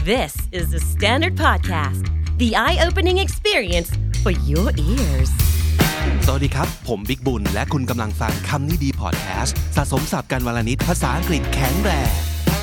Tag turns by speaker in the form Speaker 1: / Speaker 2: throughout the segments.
Speaker 1: This is the Standard Podcast, the eye-opening experience for your ears.
Speaker 2: สวัสดีครับผมบิ๊กบุญและคุณกำลังฟังคำนี้ดีพอดแคสต์สะสมศัพท์กันวลนิดภาษาอังกฤษแข็งแรง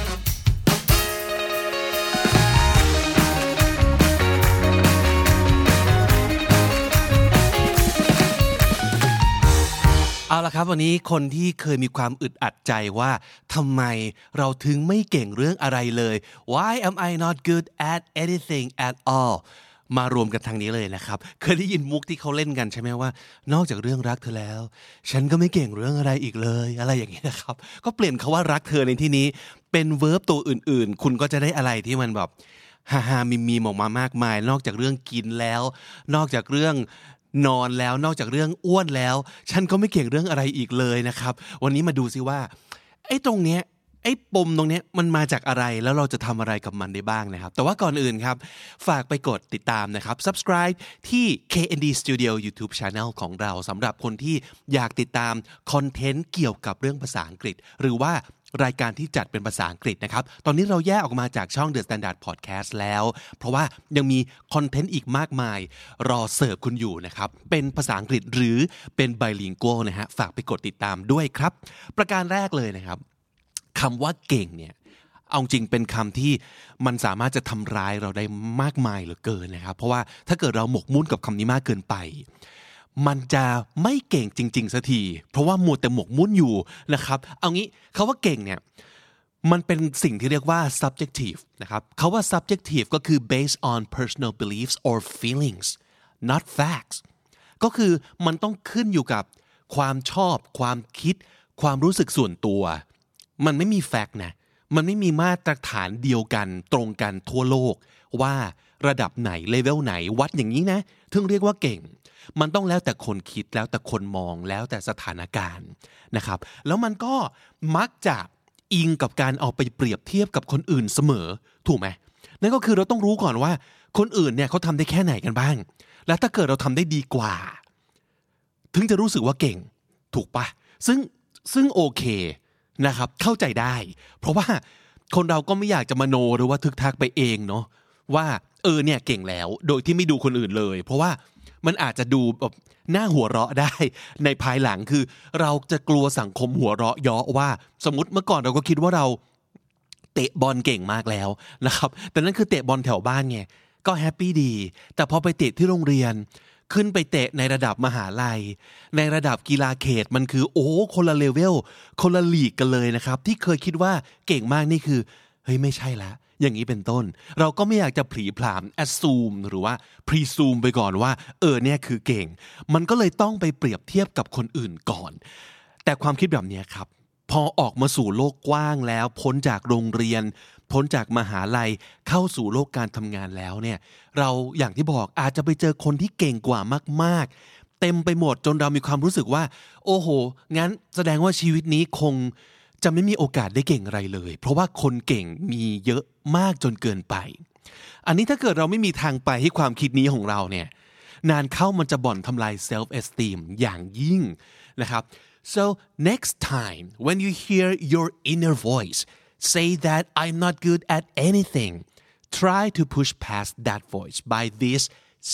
Speaker 2: เอาละครับวันนี้คนที่เคยมีความอึดอัดใจว่าทำไมเราถึงไม่เก่งเรื่องอะไรเลย Why am I not good at anything at all มารวมกันทางนี้เลยนะครับเคยได้ยินมุกที่เขาเล่นกันใช่ไหมว่านอกจากเรื่องรักเธอแล้วฉันก็ไม่เก่งเรื่องอะไรอีกเลยอะไรอย่างนี้นะครับก็เปลี่ยนคำว่ารักเธอในที่นี้เป็นเวิร์บตัวอื่นๆคุณก็จะได้อะไรที่มันแบบฮาๆมีๆออกมามากมายนอกจากเรื่องกินแล้วนอกจากเรื่องนอนแล้วนอกจากเรื่องอ้วนแล้วฉันก็ไม่เก่งเรื่องอะไรอีกเลยนะครับวันนี้มาดูซิว่าไอ้ตรงเนี้ยไอ้ปมตรงเนี้ยมันมาจากอะไรแล้วเราจะทำอะไรกับมันได้บ้างนะครับแต่ว่าก่อนอื่นครับฝากไปกดติดตามนะครับ subscribe ที่ KND Studio YouTube Channel ของเราสำหรับคนที่อยากติดตามคอนเทนต์เกี่ยวกับเรื่องภาษาอังกฤษหรือว่ารายการที่จัดเป็นภาษาอังกฤษนะครับตอนนี้เราแยกออกมาจากช่อง The Standard Podcast แล้วเพราะว่ายังมีคอนเทนต์อีกมากมายรอเสิร์ฟคุณอยู่นะครับเป็นภาษาอังกฤษหรือเป็น bilingual นะฮะฝากไปกดติดตามด้วยครับประการแรกเลยนะครับคำว่าเก่งเนี่ยเอาจริงเป็นคำที่มันสามารถจะทำร้ายเราได้มากมายเหลือเกินนะครับเพราะว่าถ้าเกิดเราหมกมุ่นกับคำนี้มากเกินไปมันจะไม่เก่งจริงๆสักทีเพราะว่ามัวแต่หมกมุ่นอยู่นะครับเอางี้คำว่าเก่งเนี่ยมันเป็นสิ่งที่เรียกว่า subjective นะครับคำว่า subjective ก็คือ based on personal beliefs or feelings not facts ก็คือมันต้องขึ้นอยู่กับความชอบความคิดความรู้สึกส่วนตัวมันไม่มีแฟกต์นะมันไม่มีมาตรฐานเดียวกันตรงกันทั่วโลกว่าระดับไหนเลเวลไหนวัดอย่างนี้นะถึงเรียกว่าเก่งมันต้องแล้วแต่คนคิดแล้วแต่คนมองแล้วแต่สถานการณ์นะครับแล้วมันก็มักจะอิงกับการเอาไปเปรียบเทียบกับคนอื่นเสมอถูกไหมนั่นก็คือเราต้องรู้ก่อนว่าคนอื่นเนี่ยเขาทำได้แค่ไหนกันบ้างแล้วถ้าเกิดเราทำได้ดีกว่าถึงจะรู้สึกว่าเก่งถูกปะซึ่งโอเคนะครับเข้าใจได้เพราะว่าคนเราก็ไม่อยากจะมโนหรือว่าทึกทักไปเองเนาะว่าเนี่ยเก่งแล้วโดยที่ไม่ดูคนอื่นเลยเพราะว่ามันอาจจะดูแบบน่าหัวเราะได้ในภายหลังคือเราจะกลัวสังคมหัวเราะเยาะว่าสมมติเมื่อก่อนเราก็คิดว่าเราเตะบอลเก่งมากแล้วนะครับแต่นั่นคือเตะบอลแถวบ้านไงก็แฮปปี้ดีแต่พอไปเตะที่โรงเรียนขึ้นไปเตะในระดับมหาลัยในระดับกีฬาเขตมันคือคนละเลเวลคนละลีกกันเลยนะครับที่เคยคิดว่าเก่งมากนี่คือเฮ้ยไม่ใช่ละอย่างนี้เป็นต้นเราก็ไม่อยากจะผลีผลาม assume หรือว่า presume ไปก่อนว่าเนี่ยคือเก่งมันก็เลยต้องไปเปรียบเทียบกับคนอื่นก่อนแต่ความคิดแบบนี้ครับพอออกมาสู่โลกกว้างแล้วพ้นจากโรงเรียนพ้นจากมหาลัยเข้าสู่โลกการทำงานแล้วเนี่ยเราอย่างที่บอกอาจจะไปเจอคนที่เก่งกว่ามากๆเต็มไปหมดจนเรามีความรู้สึกว่าโอ้โหงั้นแสดงว่าชีวิตนี้คงจะไม่มีโอกาสได้เก่งอะไรเลยเพราะว่าคนเก่งมีเยอะมากจนเกินไปอันนี้ถ้าเกิดเราไม่มีทางไปให้ความคิดนี้ของเราเนี่ยนานเข้ามันจะบ่อนทำลาย self esteem อย่างยิ่งนะครับ so next time when you hear your inner voice say that I'm not good at anything try to push past that voice by these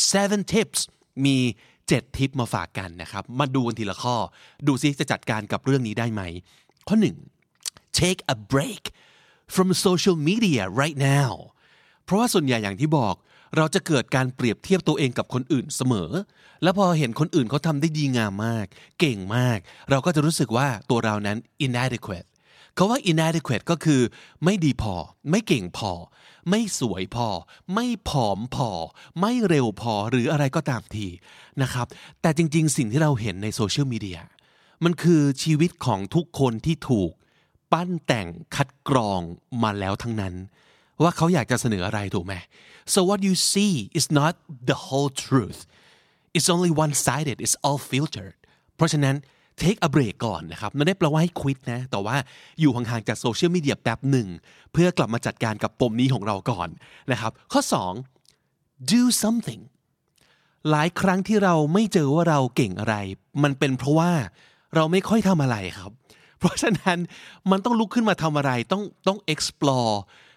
Speaker 2: 7 tips มี7 ทิปมาฝากกันนะครับมาดูกันทีละข้อดูซิจะจัดการกับเรื่องนี้ได้ไหมข้อ 1 take a break from social media right now เพราะว่าส่วนใหญ่อย่างที่บอกเราจะเกิดการเปรียบเทียบตัวเองกับคนอื่นเสมอแล้วพอเห็นคนอื่นเขาทำได้ดีงามมากเก่งมากเราก็จะรู้สึกว่าตัวเรานั้น inadequate เขาว่า inadequate ก็คือไม่ดีพอไม่เก่งพอไม่สวยพอไม่ผอมพอไม่เร็วพอหรืออะไรก็ตามทีนะครับแต่จริงๆสิ่งที่เราเห็นในโซเชียลมีเดียมันคือชีวิตของทุกคนที่ถูกปั้นแต่งคัดกรองมาแล้วทั้งนั้นว่าเขาอยากจะเสนออะไรถูกไหม so what you see is not the whole truth it's only one-sided it's all filtered เพราะฉะนั้น take a break ก่อนนะครับไม่ได้แปลว่าให้ quit นะแต่ว่าอยู่ห่างๆจากโซเชียลมีเดียแป๊บหนึ่งเพื่อกลับมาจัดการกับปมนี้ของเราก่อนนะครับข้อ 2 do something หลายครั้งที่เราไม่เจอว่าเราเก่งอะไรมันเป็นเพราะว่าเราไม่ค่อยทำอะไรครับเพราะฉะนั้นมันต้องลุกขึ้นมาทำอะไรต้อง explore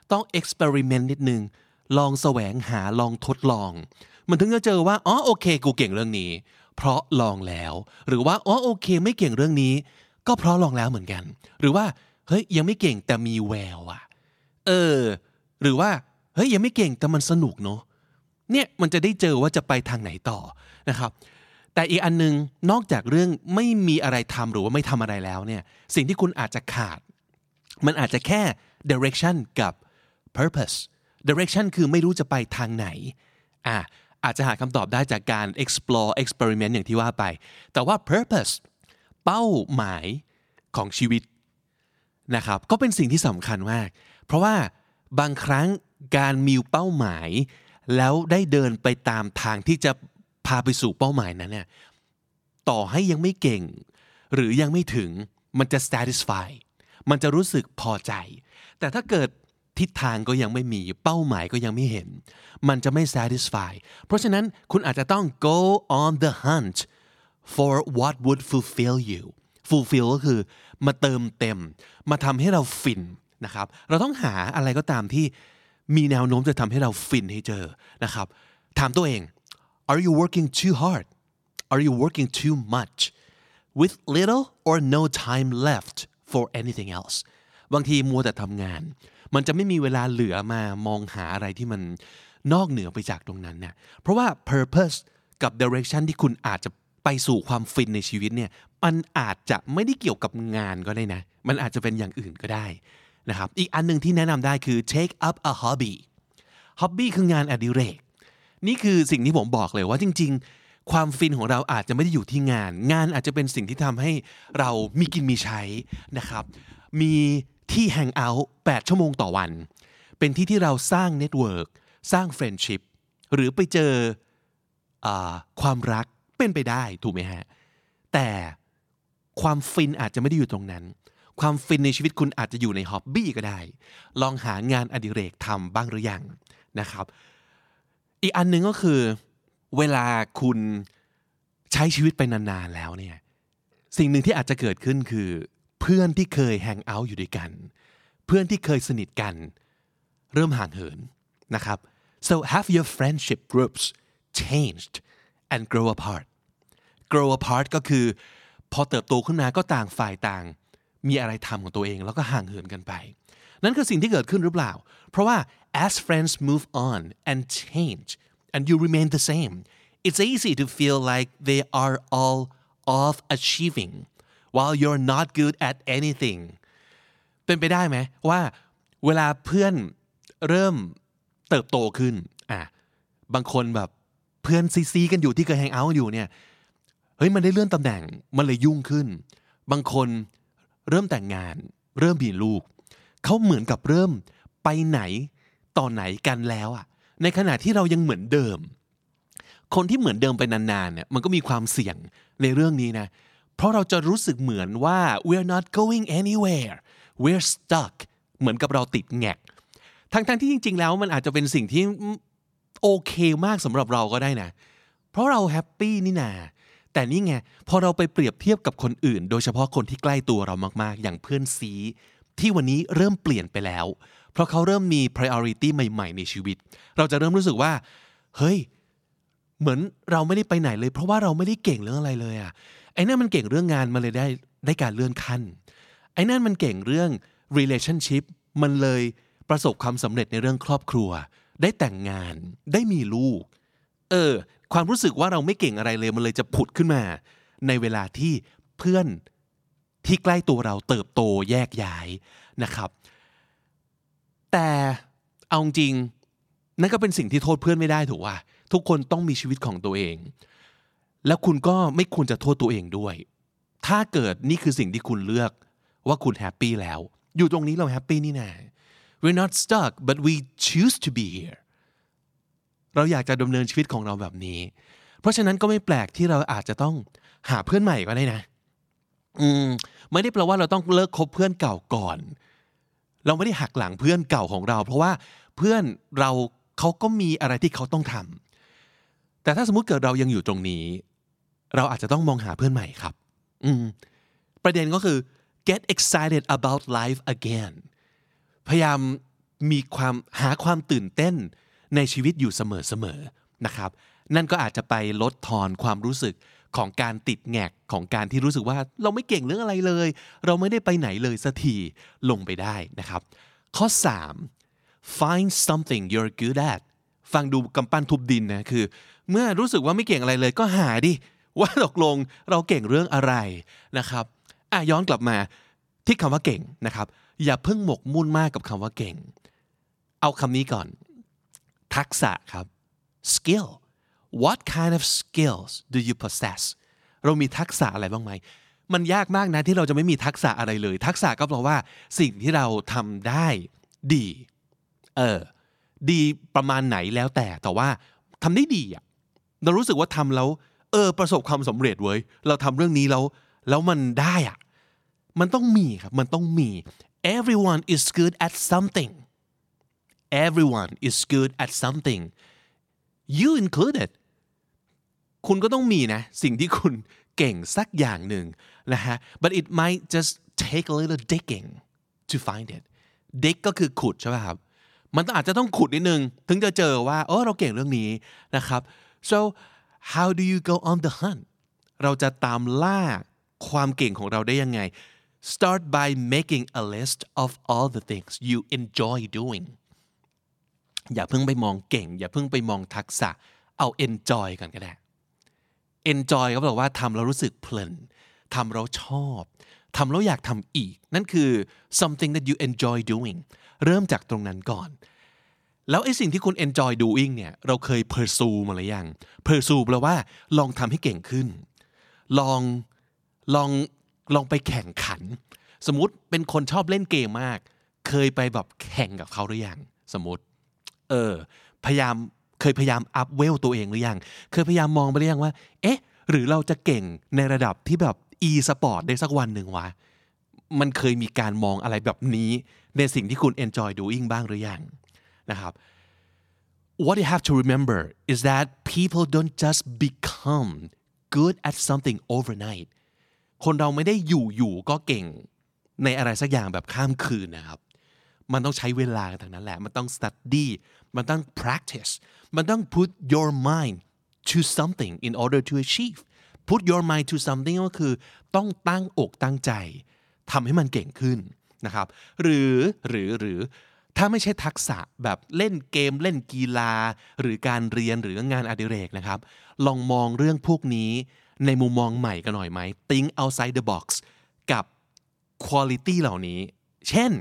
Speaker 2: ต้อง experiment นิดนึงลองแสวงหาลองทดลองมันถึงจะเจอว่าอ๋อโอเคกูเก่งเรื่องนี้เพราะลองแล้วหรือว่าอ๋อโอเคไม่เก่งเรื่องนี้ก็เพราะลองแล้วเหมือนกันหรือว่าเฮ้ยยังไม่เก่งแต่มีแววอ่ะหรือว่าเฮ้ยยังไม่เก่งแต่มันสนุกเนาะเนี่ยมันจะได้เจอว่าจะไปทางไหนต่อนะครับแต่อีกอันนึงนอกจากเรื่องไม่มีอะไรทำหรือว่าไม่ทำอะไรแล้วเนี่ยสิ่งที่คุณอาจจะขาดมันอาจจะแค่ direction กับ purpose direction คือไม่รู้จะไปทางไหนอาจจะหาคำตอบได้จากการ explore experiment อย่างที่ว่าไปแต่ว่า purpose เป้าหมายของชีวิตนะครับก็เป็นสิ่งที่สำคัญมากเพราะว่าบางครั้งการมีเป้าหมายแล้วได้เดินไปตามทางที่จะพาไปสู่เป้าหมายนั้นเนี่ยต่อให้ยังไม่เก่งหรือยังไม่ถึงมันจะ satisfy มันจะรู้สึกพอใจแต่ถ้าเกิดทิศทางก็ยังไม่มีเป้าหมายก็ยังไม่เห็นมันจะไม่ satisfy เพราะฉะนั้นคุณอาจจะต้อง go on the hunt for what would fulfill you fulfill ก็คือมาเติมเต็มมาทำให้เราฟินนะครับเราต้องหาอะไรก็ตามที่มีแนวโน้มจะทำให้เราฟินให้เจอนะครับถามตัวเอง Are you working too hard? Are you working too much? With little or no time left for anything else บางทีมัวแต่ทำงานมันจะไม่มีเวลาเหลือมามองหาอะไรที่มันนอกเหนือไปจากตรงนั้นเนี่ยเพราะว่า purpose กับ direction ที่คุณอาจจะไปสู่ความฟินในชีวิตเนี่ยมันอาจจะไม่ได้เกี่ยวกับงานก็ได้นะมันอาจจะเป็นอย่างอื่นก็ได้นะครับอีกอันนึงที่แนะนำได้คือ take up a hobby hobby คืองานอดิเรกนี่คือสิ่งที่ผมบอกเลยว่าจริงๆความฟินของเราอาจจะไม่ได้อยู่ที่งานอาจจะเป็นสิ่งที่ทำให้เรามีกินมีใช้นะครับมีที่แฮงเอาท์8ชั่วโมงต่อวันเป็นที่ที่เราสร้างเน็ตเวิร์กสร้างเฟรนด์ชิพหรือไปเจอความรักเป็นไปได้ถูกไหมฮะแต่ความฟินอาจจะไม่ได้อยู่ตรงนั้นความฟินในชีวิตคุณอาจจะอยู่ในฮ็อบบี้ก็ได้ลองหางานอดิเรกทำบ้างหรือยังนะครับอีกอันนึงก็คือเวลาคุณใช้ชีวิตไปนานๆแล้วเนี่ยสิ่งหนึ่งที่อาจจะเกิดขึ้นคือเพื่อนที่เคยแฮงเอาท์อยู่ด้วยกันเพื่อนที่เคยสนิทกันเริ่มห่างเหินนะครับ so have your friendship groups changed and grow apart ก็คือพอเติบโตขึ้นมาก็ต่างฝ่ายต่างมีอะไรทำของตัวเองแล้วก็ห่างเหินกันไปนั่นคือสิ่งที่เกิดขึ้นหรือเปล่าเพราะว่า as friends move on and change and you remain the same it's easy to feel like they are all of achieving while you're not good at anything เป็นไปได้ไหมว่าเวลาเพื่อนเริ่มเติบโตขึ้นบางคนแบบเพื่อนซีกันอยู่ที่เคยแฮงเอาท์อยู่เนี่ยเฮ้ยมันได้เลื่อนตำแหน่งมันเลยยุ่งขึ้นบางคนเริ่มแต่งงานเริ่มมีลูกเขาเหมือนกับเริ่มไปไหนต่อไหนกันแล้วในขณะที่เรายังเหมือนเดิมคนที่เหมือนเดิมไปนานๆเนี่ยมันก็มีความเสี่ยงในเรื่องนี้นะเพราะเราจะรู้สึกเหมือนว่า we're not going anywhere we're stuck เหมือนกับเราติดแงกทั้งที่จริงๆแล้วมันอาจจะเป็นสิ่งที่โอเคมากสำหรับเราก็ได้นะเพราะเราแฮปปี้นี่นาแต่นี่ไงพอเราไปเปรียบเทียบกับคนอื่นโดยเฉพาะคนที่ใกล้ตัวเรามากๆอย่างเพื่อนซีที่วันนี้เริ่มเปลี่ยนไปแล้วเพราะเขาเริ่มมี priority ใหม่ๆในชีวิตเราจะเริ่มรู้สึกว่าเฮ้ยเหมือนเราไม่ได้ไปไหนเลยเพราะว่าเราไม่ได้เก่งเรื่องอะไรเลยไอ้นั่นมันเก่งเรื่องงานมันเลยได้การเลื่อนขั้นไอ้นั่นมันเก่งเรื่อง relationship มันเลยประสบความสำเร็จในเรื่องครอบครัวได้แต่งงานได้มีลูกความรู้สึกว่าเราไม่เก่งอะไรเลยมันเลยจะผุดขึ้นมาในเวลาที่เพื่อนที่ใกล้ตัวเราเติบโตแยกย้ายนะครับแต่เอาจริงนั่นก็เป็นสิ่งที่โทษเพื่อนไม่ได้ถูกป่ะทุกคนต้องมีชีวิตของตัวเองแล้วคุณก็ไม่ควรจะโทษตัวเองด้วยถ้าเกิดนี่คือสิ่งที่คุณเลือกว่าคุณแฮปปี้แล้วอยู่ตรงนี้เราแฮปปี้นี่นะ we're not stuck but we choose to be here เราอยากจะดำเนินชีวิตของเราแบบนี้เพราะฉะนั้นก็ไม่แปลกที่เราอาจจะต้องหาเพื่อนใหม่ก็ได้นะไม่ได้แปลว่าเราต้องเลิกคบเพื่อนเก่าก่อนเราไม่ได้หักหลังเพื่อนเก่าของเราเพราะว่าเพื่อนเราเขาก็มีอะไรที่เขาต้องทำแต่ถ้าสมมุติเกิดเรายังอยู่ตรงนี้เราอาจจะต้องมองหาเพื่อนใหม่ครับประเด็นก็คือ get excited about life again พยายามหาความตื่นเต้นในชีวิตอยู่เสมอๆนะครับนั่นก็อาจจะไปลดทอนความรู้สึกของการติดแงกของการที่รู้สึกว่าเราไม่เก่งเรื่องอะไรเลยเราไม่ได้ไปไหนเลยสักทีลงไปได้นะครับข้อ 3 find something you're good at ฟังดูกำปั้นทุบดินนะคือเมื่อรู้สึกว่าไม่เก่งอะไรเลยก็หาดิว่าตกลงเราเก่งเรื่องอะไรนะครับย้อนกลับมาที่คำว่าเก่งนะครับอย่าเพิ่งหมกมุ่นมากกับคำว่าเก่งเอาคำนี้ก่อนทักษะครับ skill what kind of skills do you possess เรามีทักษะอะไรบ้างไหมมันยากมากนะที่เราจะไม่มีทักษะอะไรเลยทักษะก็แปลว่าสิ่งที่เราทำได้ดีดีประมาณไหนแล้วแต่ว่าทำได้ดีอ่ะเรารู้สึกว่าทำแล้วประสบความสำเร็จเว้ยเราทำเรื่องนี้แล้วมันได้อ่ะมันต้องมีครับมันต้องมี everyone is good at something everyone is good at something you included คุณก็ต้องมีนะสิ่งที่คุณเก่งสักอย่างหนึ่งนะฮะ but it might just take a little digging to find it dig ก็คือขุดใช่ไหมครับมันอาจจะต้องขุดนิดนึงถึงจะเจอว่าเราเก่งเรื่องนี้นะครับ so how do you go on the hunt เราจะตามล่าความเก่งของเราได้ยังไง start by making a list of all the things you enjoy doing อย่าเพิ่งไปมองเก่งอย่าเพิ่งไปมองทักษะเอา enjoy กันก็ได้ enjoy ก็แปลว่าทำแล้วรู้สึกเพลินทำแล้วชอบทำแล้วอยากทำอีกนั่นคือ something that you enjoy doing เริ่มจากตรงนั้นก่อนแล้วไอ้สิ่งที่คุณ enjoy doing เนี่ยเราเคย pursue มาหรือยัง pursue แปลว่าลองทำให้เก่งขึ้นลองไปแข่งขันสมมุติเป็นคนชอบเล่นเกมมากเคยไปแบบแข่งกับเขาหรือยังสมมุติเคยพยายามอัพเวลตัวเองหรือยังเคยพยายามมองไปหรือยังว่าหรือเราจะเก่งในระดับที่แบบ e-sport ได้สักวันหนึ่งวะมันเคยมีการมองอะไรแบบนี้ในสิ่งที่คุณ enjoy doing บ้างหรือยังนะครับ What you have to remember is that people don't just become good at something overnight คนเราไม่ได้อยู่ก็เก่งในอะไรสักอย่างแบบข้ามคืนนะครับมันต้องใช้เวลาทั้งนั้นแหละมันต้อง study มันต้อง practice มันต้อง put your mind to something in order to achieve put your mind to something ก็คือต้องตั้งอกตั้งใจทำให้มันเก่งขึ้นนะครับหรือถ้าไม่ใช่ทักษะแบบเล่นเกมเล่นกีฬาหรือการเรียนหรืองานอดิเรกนะครับลองมองเรื่องพวกนี้ในมุมมองใหม่กันหน่อยไหม think outside the box กับ quality เหล่านี้เช่น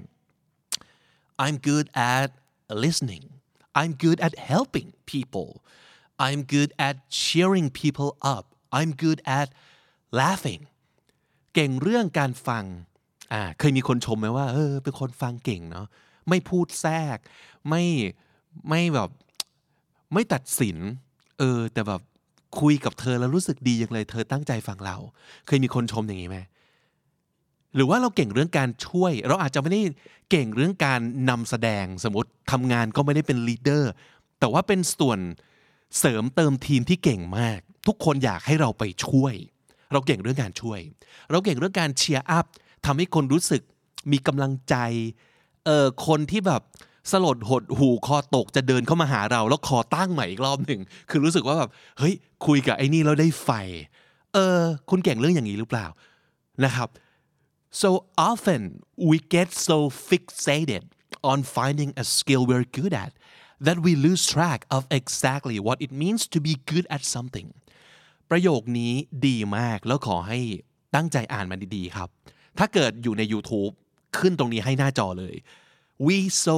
Speaker 2: I'm good at listening. I'm good at helping people. I'm good at cheering people up. I'm good at laughing. เก่งเรื่องการฟังเคยมีคนชมไหมว่าเป็นคนฟังเก่งเนาะไม่พูดแทรกไม่แบบไม่ตัดสินแต่แบบคุยกับเธอแล้วรู้สึกดีอย่างเลยเธอตั้งใจฟังเราเคยมีคนชมอย่างนี้ไหมหรือว่าเราเก่งเรื่องการช่วยเราอาจจะไม่ได้เก่งเรื่องการนำแสดงสมมติทำงานก็ไม่ได้เป็นลีดเดอร์แต่ว่าเป็นส่วนเสริมเติมทีมที่เก่งมากทุกคนอยากให้เราไปช่วยเราเก่งเรื่องการช่วยเราเก่งเรื่องการเชียร์อัพทำให้คนรู้สึกมีกำลังใจคนที่แบบสลดหดหูคอตกจะเดินเข้ามาหาเราแล้วคอตั้งใหม่อีกรอบหนึ่งคือรู้สึกว่าแบบเฮ้ยคุยกับไอ้นี่แล้วได้ไฟคุณเก่งเรื่องอย่างนี้หรือเปล่านะครับSo often we get so fixated on finding a skill we're good at that we lose track of exactly what it means to be good at something ประโยคนี้ดีมากแล้วขอให้ตั้งใจอ่านมันดีๆครับถ้าเกิดอยู่ใน YouTube ขึ้นตรงนี้ให้หน้าจอเลย we so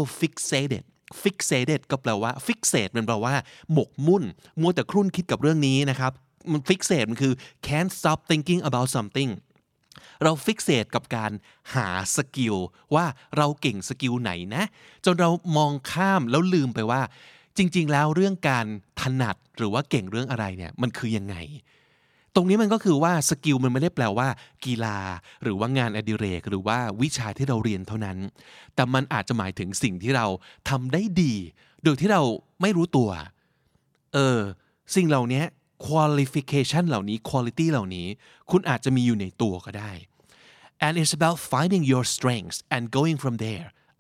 Speaker 2: fixated ก็แปลว่า fixate มันแปลว่าหมกมุ่นมัวแต่ครุ่นคิดกับเรื่องนี้นะครับมัน fixate มันคือ can't stop thinking about somethingเราฟิกเซตกับการหาสกิลว่าเราเก่งสกิลไหนนะจนเรามองข้ามแล้วลืมไปว่าจริงๆแล้วเรื่องการถนัดหรือว่าเก่งเรื่องอะไรเนี่ยมันคือยังไงตรงนี้มันก็คือว่าสกิลมันไม่ได้แปลว่ากีฬาหรือว่างานอดิเรกหรือว่าวิชาที่เราเรียนเท่านั้นแต่มันอาจจะหมายถึงสิ่งที่เราทำได้ดีโดยที่เราไม่รู้ตัวสิ่งเหล่านี้qualification เหล่านี้ quality เหล่านี้คุณอาจจะมีอยู่ในตัวก็ได้ and it's about finding your strengths and going from there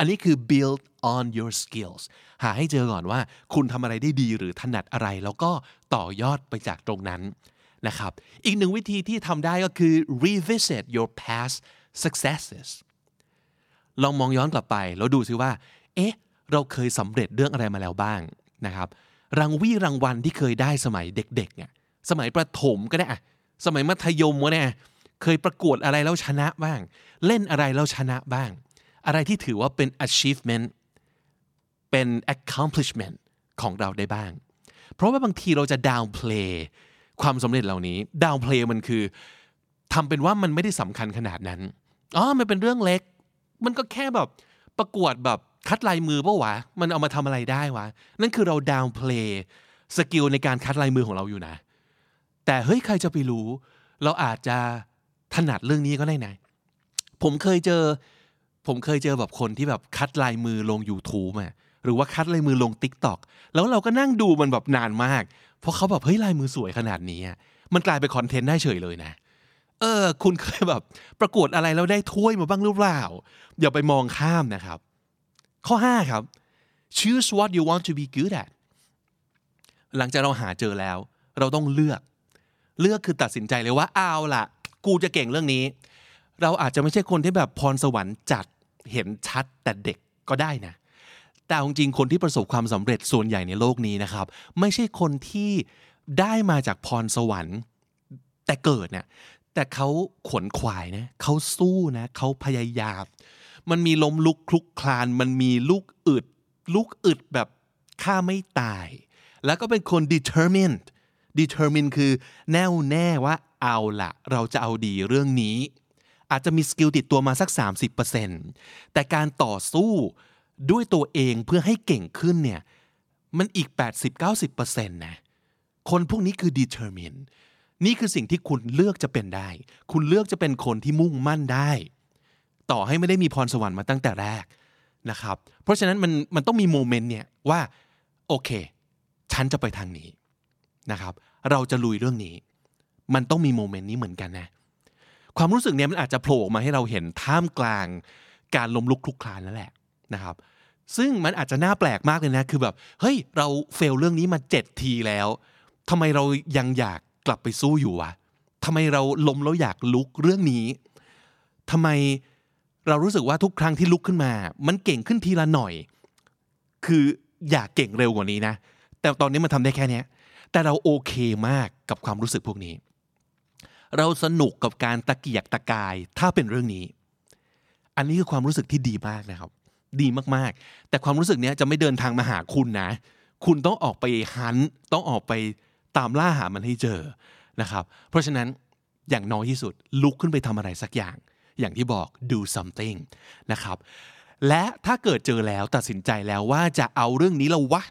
Speaker 2: อันนี้คือ build on your skills หาให้เจอก่อนว่าคุณทำอะไรได้ดีหรือถนัดอะไรแล้วก็ต่อยอดไปจากตรงนั้นนะครับอีกหนึ่งวิธีที่ทำได้ก็คือ revisit your past successes ลองมองย้อนกลับไปแล้วดูซิว่าเราเคยสำเร็จเรื่องอะไรมาแล้วบ้างนะครับรางวัลที่เคยได้สมัยเด็กๆเนี่ยสมัยประถมก็ได้สมัยมัธยมก็ได้เคยประกวดอะไรแล้วชนะบ้างเล่นอะไรแล้วชนะบ้างอะไรที่ถือว่าเป็น achievement เป็น accomplishment ของเราได้บ้างเพราะว่าบางทีเราจะ downplay ความสำเร็จเหล่านี้ downplay มันคือทำเป็นว่ามันไม่ได้สำคัญขนาดนั้นมันเป็นเรื่องเล็กมันก็แค่แบบประกวดแบบคัดลายมือป่ะวะมันเอามาทำอะไรได้วะนั่นคือเรา downplay สกิลในการคัดลายมือของเราอยู่นะแต่เฮ้ยใครจะไปรู้เราอาจจะถนัดเรื่องนี้ก็ได้นะผมเคยเจอแบบคนที่แบบคัดลายมือลง YouTube หรือว่าคัดลายมือลง TikTok แล้วเราก็นั่งดูมันแบบนานมากเพราะเขาแบบเฮ้ยลายมือสวยขนาดนี้มันกลายเป็นคอนเทนต์ได้เฉยเลยนะคุณเคยแบบประกวดอะไรแล้วได้ถ้วยมาบ้างหรือเปล่าอย่าไปมองข้ามนะครับข้อ5ครับ choose what you want to be good at หลังจากเราหาเจอแล้วเราต้องเลือกคือตัดสินใจเลยว่าเอาล่ะกูจะเก่งเรื่องนี้เราอาจจะไม่ใช่คนที่แบบพรสวรรค์จัดเห็นชัดแต่เด็กก็ได้นะแต่จริงๆคนที่ประสบความสำเร็จส่วนใหญ่ในโลกนี้นะครับไม่ใช่คนที่ได้มาจากพรสวรรค์แต่เกิดเนี่ยแต่เขาขวนขวายนะเขาสู้นะเขาพยายามมันมีล้มลุกคลุกคลานมันมีลูกอึดแบบฆ่าไม่ตายแล้วก็เป็นคน determined คือแน่วแน่ว่าเอาล่ะเราจะเอาดีเรื่องนี้อาจจะมีสกิลติดตัวมาสัก 30% แต่การต่อสู้ด้วยตัวเองเพื่อให้เก่งขึ้นเนี่ยมันอีก 80-90% นะคนพวกนี้คือ determined นี่คือสิ่งที่คุณเลือกจะเป็นได้คุณเลือกจะเป็นคนที่มุ่งมั่นได้ต่อให้ไม่ได้มีพรสวรรค์มาตั้งแต่แรกนะครับเพราะฉะนั้นมันต้องมีโมเมนต์เนี่ยว่าโอเคฉันจะไปทางนี้นะครับเราจะลุยเรื่องนี้มันต้องมีโมเมนต์นี้เหมือนกันนะความรู้สึกเนี้ยมันอาจจะโผล่มาให้เราเห็นท่ามกลางการล้มลุกคลุกคลานนั่นแหละนะครับซึ่งมันอาจจะน่าแปลกมากเลยนะคือแบบเฮ้ยเราเฟลเรื่องนี้มา7ทีแล้วทำไมเรายังอยากกลับไปสู้อยู่วะทำไมเราล้มแล้วอยากลุกเรื่องนี้ทำไมเรารู้สึกว่าทุกครั้งที่ลุกขึ้นมามันเก่งขึ้นทีละหน่อยคืออยากเก่งเร็วกว่านี้นะแต่ตอนนี้มันทำได้แค่นี้แต่เราโอเคมากกับความรู้สึกพวกนี้เราสนุกกับการตะเกียกตะกายถ้าเป็นเรื่องนี้อันนี้คือความรู้สึกที่ดีมากนะครับดีมากๆแต่ความรู้สึกนี้จะไม่เดินทางมาหาคุณนะคุณต้องออกไปฮันต์ต้องออกไปตามล่าหามันให้เจอนะครับเพราะฉะนั้นอย่างน้อยที่สุดลุกขึ้นไปทำอะไรสักอย่างที่บอก do something นะครับและถ้าเกิดเจอแล้วตัดสินใจแล้วว่าจะเอาเรื่องนี้แล้ววะ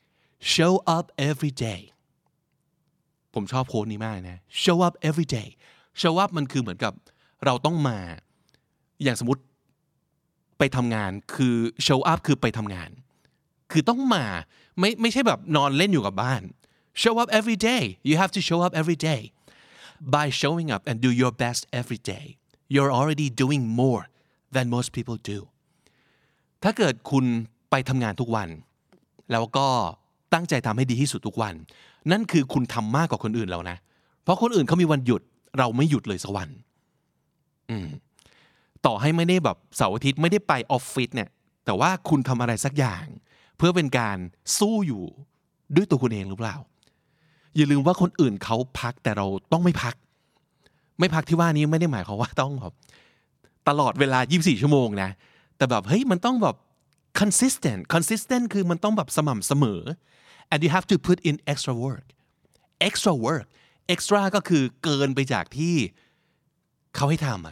Speaker 2: show up every day ผมชอบโค้ดนี้มากนะ show up every day show up มันคือเหมือนกับเราต้องมาอย่างสมมติไปทำงานคือ show up คือไปทำงานคือต้องมาไม่ใช่แบบนอนเล่นอยู่กับบ้าน show up every day you have to show up every day by showing up and do your best every day you're already doing more than most people do ถ้าเกิดคุณไปทำงานทุกวันแล้วก็ตั้งใจทำให้ดีที่สุดทุกวันนั่นคือคุณทำมากกว่าคนอื่นแล้วนะเพราะคนอื่นเขามีวันหยุดเราไม่หยุดเลยสักวันต่อให้ไม่ได้แบบเสาร์อาทิตย์ไม่ได้ไปออฟฟิศเนี่ยแต่ว่าคุณทำอะไรสักอย่างเพื่อเป็นการสู้อยู่ด้วยตัวคุณเองหรือเปล่าอย่าลืมว่าคนอื่นเขาพักแต่เราต้องไม่พักที่ว่านี้ไม่ได้หมายความว่าต้องแบบตลอดเวลา24ชั่วโมงนะแต่แบบเฮ้ยมันต้องแบบ consistent คือมันต้องแบบสม่ำเสมอ and you have to put in extra work extra ก็คือเกินไปจากที่เขาให้ทำ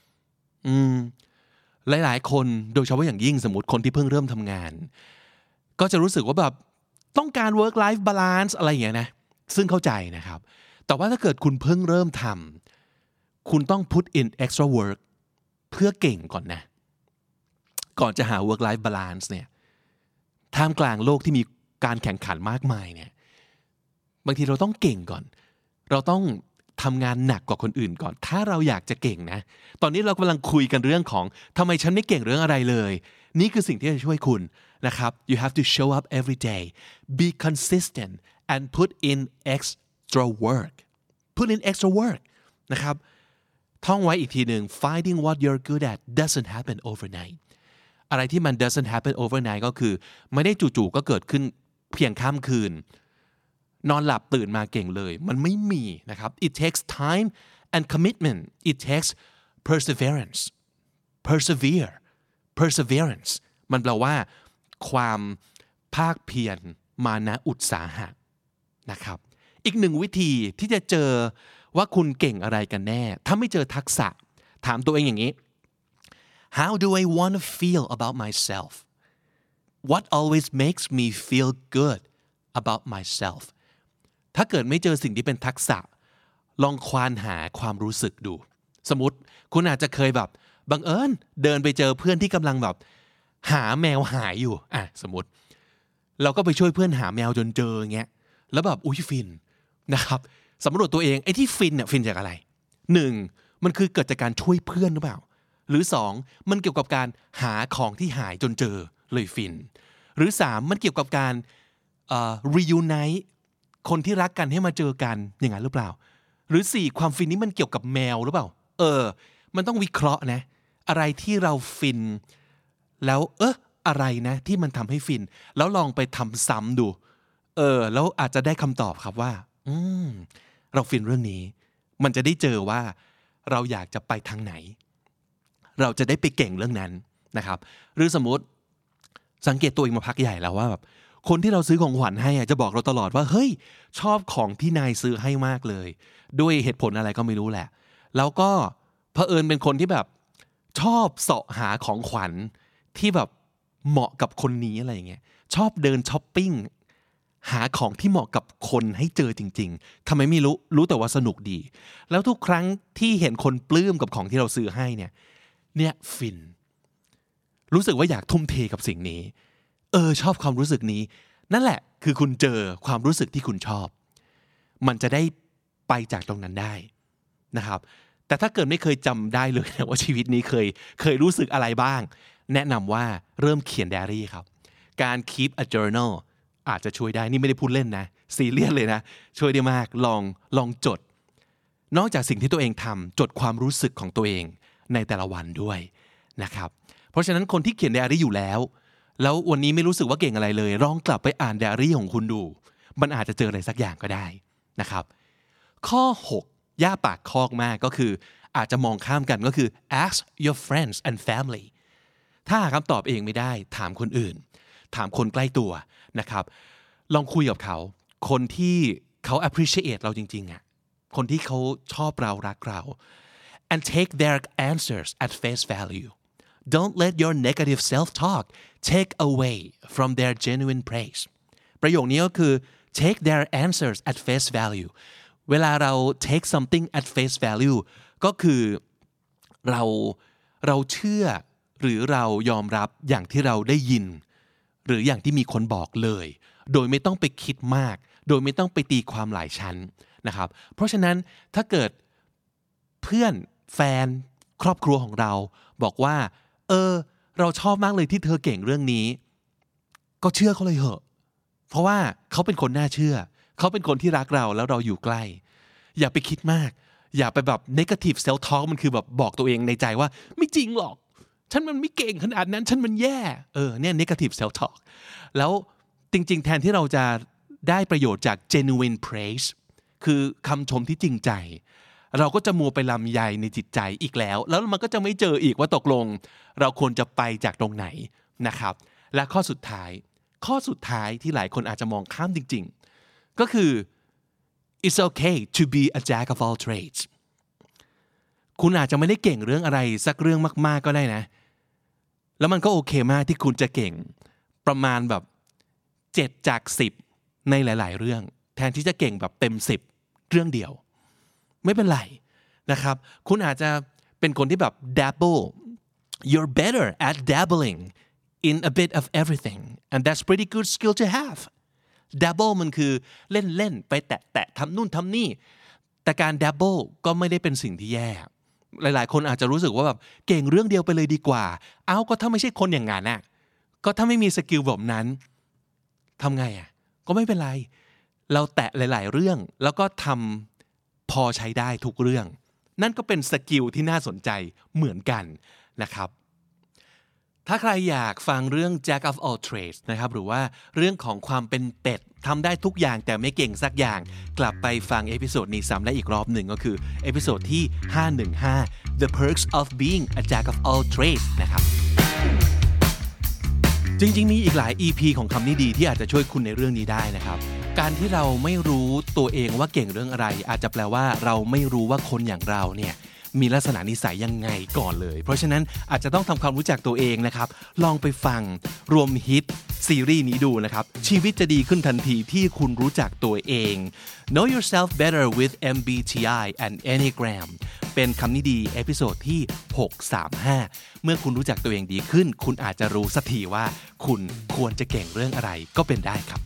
Speaker 2: หลายๆคนโดยเฉพาะอย่างยิ่งสมมติคนที่เพิ่งเริ่มทำงานก็จะรู้สึกว่าแบบต้องการ work life balance อะไรอย่างเงี้ยนะซึ่งเข้าใจนะครับแต่ว่าถ้าเกิดคุณเพิ่งเริ่มทำคุณต้อง put in extra work เพื่อเก่งก่อนนะก่อนจะหา work life balance เนี่ยท่ามกลางโลกที่มีการแข่งขันมากมายเนี่ยบางทีเราต้องเก่งก่อนเราต้องทำงานหนักกว่าคนอื่นก่อนถ้าเราอยากจะเก่งนะตอนนี้เรากำลังคุยกันเรื่องของทำไมฉันไม่เก่งเรื่องอะไรเลยนี่คือสิ่งที่จะช่วยคุณนะครับ you have to show up every day be consistent and put in extra work นะครับท่องไว้อีกทีหนึ่ง finding what you're good at doesn't happen overnight อะไรที่มัน doesn't happen overnight ก็คือไม่ได้จู่ๆก็เกิดขึ้นเพียงข้ามคืนนอนหลับตื่นมาเก่งเลยมันไม่มีนะครับ it takes time and commitment it takes perseveranceมันแปลว่าความภาคเพียรมานะอุตสาหะนะครับอีกหนึ่งวิธีที่จะเจอว่าคุณเก่งอะไรกันแน่ถ้าไม่เจอทักษะถามตัวเองอย่างนี้ How do I want to feel about myself What always makes me feel good about myself ถ้าเกิดไม่เจอสิ่งที่เป็นทักษะลองควานหาความรู้สึกดูสมมติคุณอาจจะเคยแบบบังเอิญเดินไปเจอเพื่อนที่กำลังแบบหาแมวหายอยู่สมมติเราก็ไปช่วยเพื่อนหาแมวจนเจอเงี้ยแล้วแบบอุ๊ยฟินนะครับสำรวจตัวเองไอ้ที่ฟินเนี่ยฟินจากอะไร1มันคือเกิดจากการช่วยเพื่อนหรือเปล่าหรือ2มันเกี่ยวกับการหาของที่หายจนเจอเลยฟินหรือ3มันเกี่ยวกับการreunite คนที่รักกันให้มาเจอกันอย่างนั้นหรือเปล่าหรือ4ความฟินนี้มันเกี่ยวกับแมวหรือเปล่ามันต้องวิเคราะห์นะอะไรที่เราฟินแล้วอะไรนะที่มันทำให้ฟินแล้วลองไปทำซ้ำดูแล้วอาจจะได้คำตอบครับว่าเราฟินเรื่องนี้มันจะได้เจอว่าเราอยากจะไปทางไหนเราจะได้ไปเก่งเรื่องนั้นนะครับหรือสมมติสังเกตตัวเองมาพักใหญ่แล้วว่าแบบคนที่เราซื้อของขวัญให้จะบอกเราตลอดว่าเฮ้ยชอบของที่นายซื้อให้มากเลยด้วยเหตุผลอะไรก็ไม่รู้แหละแล้วก็เผอิญเป็นคนที่แบบชอบเสาะหาของขวัญที่แบบเหมาะกับคนนี้อะไรอย่างเงี้ยชอบเดินช้อปปิ้งหาของที่เหมาะกับคนให้เจอจริงๆทำไมไม่รู้แต่ว่าสนุกดีแล้วทุกครั้งที่เห็นคนปลื้มกับของที่เราซื้อให้เนี่ยฟินรู้สึกว่าอยากทุ่มเทกับสิ่งนี้ชอบความรู้สึกนี้นั่นแหละคือคุณเจอความรู้สึกที่คุณชอบมันจะได้ไปจากตรงนั้นได้นะครับแต่ถ้าเกิดไม่เคยจำได้เลยนะว่าชีวิตนี้เคยรู้สึกอะไรบ้างแนะนำว่าเริ่มเขียนไดอารี่ครับการ keep a journal อาจจะช่วยได้นี่ไม่ได้พูดเล่นนะซีเรียสเลยนะช่วยได้มากลองจดนอกจากสิ่งที่ตัวเองทำจดความรู้สึกของตัวเองในแต่ละวันด้วยนะครับเพราะฉะนั้นคนที่เขียนไดอารี่อยู่แล้ววันนี้ไม่รู้สึกว่าเก่งอะไรเลยลองกลับไปอ่านไดอารี่ของคุณดูมันอาจจะเจออะไรสักอย่างก็ได้นะครับข้อ6ย่าปากคอกมากก็คืออาจจะมองข้ามกันก็คือ ask your friends and family ถ้าหาคำตอบเองไม่ได้ถามคนอื่นถามคนใกล้ตัวนะครับลองคุยกับเขาคนที่เขา appreciate เราจริงๆคนที่เขาชอบเรารักเรา and take their answers at face value Don't let your negative self-talk take away from their genuine praise ประโยคนี้ก็คือ take their answers at face value เวลาเรา take something at face value ก็คือเราเชื่อหรือเรายอมรับอย่างที่เราได้ยินหรืออย่างที่มีคนบอกเลยโดยไม่ต้องไปคิดมากโดยไม่ต้องไปตีความหลายชั้นนะครับเพราะฉะนั้นถ้าเกิดเพื่อนแฟนครอบครัวของเราบอกว่าเราชอบมากเลยที่เธอเก่งเรื่องนี้ก็เชื่อเขาเลยเหอะเพราะว่าเขาเป็นคนน่าเชื่อเขาเป็นคนที่รักเราแล้วเราอยู่ใกล้อย่าไปคิดมากอย่าไปแบบ negative self talk มันคือแบบบอกตัวเองในใจว่าไม่จริงหรอกฉันมันไม่เก่งขนาดนั้นฉันมันแย่เนี่ย negative self talk แล้วจริงๆแทนที่เราจะได้ประโยชน์จาก genuine praise คือคำชมที่จริงใจเราก็จะมัวไปลำใยในจิตใจอีกแล้วมันก็จะไม่เจออีกว่าตกลงเราควรจะไปจากตรงไหนนะครับและข้อสุดท้ายที่หลายคนอาจจะมองข้ามจริงๆก็คือ it's okay to be a jack of all trades คุณอาจจะไม่ได้เก่งเรื่องอะไรสักเรื่องมากๆก็ได้นะแล้วมันก็โอเคมากที่คุณจะเก่งประมาณแบบ7 จาก 10ในหลายๆเรื่องแทนที่จะเก่งแบบเต็ม10เรื่องเดียวไม่เป็นไรนะครับคุณอาจจะเป็นคนที่แบบ dabble you're better at dabbling in a bit of everything and that's pretty good skill to have dabble มันคือเล่นๆไปแตะทำนู่นทำนี่แต่การ dabble ก็ไม่ได้เป็นสิ่งที่แย่หลายๆคนอาจจะรู้สึกว่าแบบเก่งเรื่องเดียวไปเลยดีกว่าก็ถ้าไม่ใช่คนอย่างนั้นน่ะก็ถ้าไม่มีสกิลแบบนั้นทำไงก็ไม่เป็นไรเราแตะหลายๆเรื่องแล้วก็ทำพอใช้ได้ทุกเรื่องนั่นก็เป็นสกิลที่น่าสนใจเหมือนกันนะครับถ้าใครอยากฟังเรื่อง Jack of all trades นะครับหรือว่าเรื่องของความเป็นเป็ดทำได้ทุกอย่างแต่ไม่เก่งสักอย่างกลับไปฟังเอพิโซดนี้ซ้ำได้อีกรอบหนึ่งก็คือเอพิโซดที่515 The Perks of Being a Jack of all trades นะครับจริงๆมีอีกหลาย EP ของคำนี้ดีที่อาจจะช่วยคุณในเรื่องนี้ได้นะครับการที่เราไม่รู้ตัวเองว่าเก่งเรื่องอะไรอาจจะแปลว่าเราไม่รู้ว่าคนอย่างเราเนี่ยมีลักษณะนิสัยยังไงก่อนเลยเพราะฉะนั้นอาจจะต้องทำความรู้จักตัวเองนะครับลองไปฟังรวมฮิตซีรีส์นี้ดูนะครับชีวิตจะดีขึ้นทันทีที่คุณรู้จักตัวเอง Know yourself better with MBTI and Enneagram เป็นคำนี้ดีเอพิโซดที่635เมื่อคุณรู้จักตัวเองดีขึ้นคุณอาจจะรู้สักทีว่าคุณควรจะเก่งเรื่องอะไรก็เป็นได้ครับ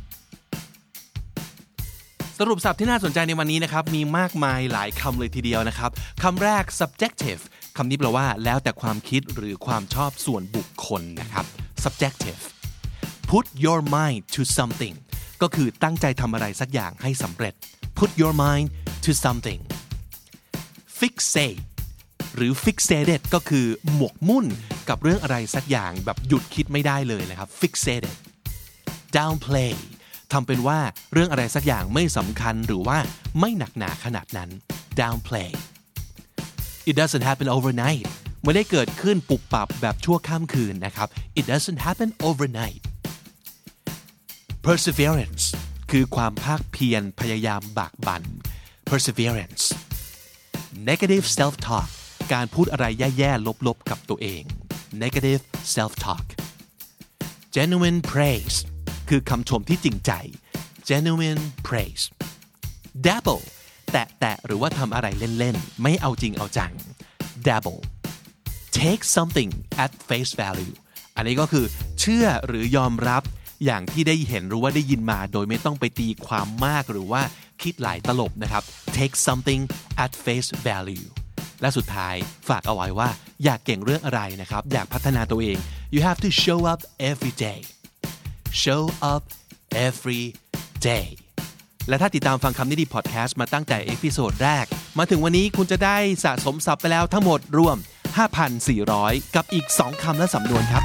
Speaker 2: สรุปศัพท์ที่น่าสนใจในวันนี้นะครับมีมากมายหลายคำเลยทีเดียวนะครับคำแรก subjective คำนี้แปลว่าแล้วแต่ความคิดหรือความชอบส่วนบุคคลนะครับ subjective put your mind to something ก็คือตั้งใจทำอะไรสักอย่างให้สำเร็จ put your mind to something fixate หรือ fixated ก็คือหมกมุ่นกับเรื่องอะไรสักอย่างแบบหยุดคิดไม่ได้เลยนะครับ fixated downplayทำเป็นว่าเรื่องอะไรสักอย่างไม่สำคัญหรือว่าไม่หนักหนาขนาดนั้น downplay it doesn't happen overnight ไม่ได้เกิดขึ้นปุบปับแบบชั่วข้ามคืนนะครับ it doesn't happen overnight perseverance คือความภาคเพียรพยายามบากบั่น perseverance negative self talk การพูดอะไรแย่ๆลบๆกับตัวเอง negative self talk genuine praiseคือคำชมที่จริงใจ genuine praise dabble แตะหรือว่าทำอะไรเล่นๆไม่เอาจริงเอาจัง dabble take something at face value อันนี้ก็คือเชื่อหรือยอมรับอย่างที่ได้เห็นหรือว่าได้ยินมาโดยไม่ต้องไปตีความมากหรือว่าคิดหลายตลบนะครับ take something at face value และสุดท้ายฝากเอาไว้ว่าอยากเก่งเรื่องอะไรนะครับอยากพัฒนาตัวเอง you have to show up every day show up every day และถ้าติดตามฟังคำนี้ดีพอดแคสต์มาตั้งแต่เอพิโซดแรกมาถึงวันนี้คุณจะได้สะสมศัพท์ไปแล้วทั้งหมดรวม 5,400 กับอีก2คำและสำนวนครับ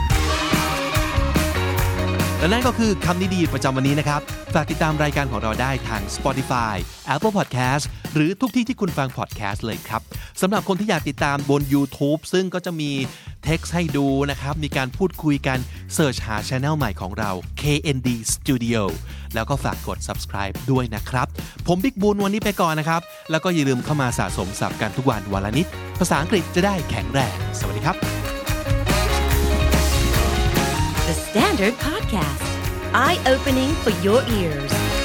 Speaker 2: และนั่นก็คือคำนี้ดีประจำวันนี้นะครับฝากติดตามรายการของเราได้ทาง Spotify Apple Podcast หรือทุกที่ที่คุณฟัง podcast เลยครับสำหรับคนที่อยากติดตามบน YouTube ซึ่งก็จะมีเท็กซ์ให้ดูนะครับมีการพูดคุยกันเสิร์ชหา channel ใหม่ของเรา KND Studio แล้วก็ฝากกด subscribe ด้วยนะครับผมบิ๊กบูนวันนี้ไปก่อนนะครับแล้วก็อย่าลืมเข้ามาสะสมศัพท์กันทุกวันวันละนิดภาษาอังกฤษจะได้แข็งแรงสวัสดีครับ
Speaker 1: The Standard Podcast Eye-opening for your ears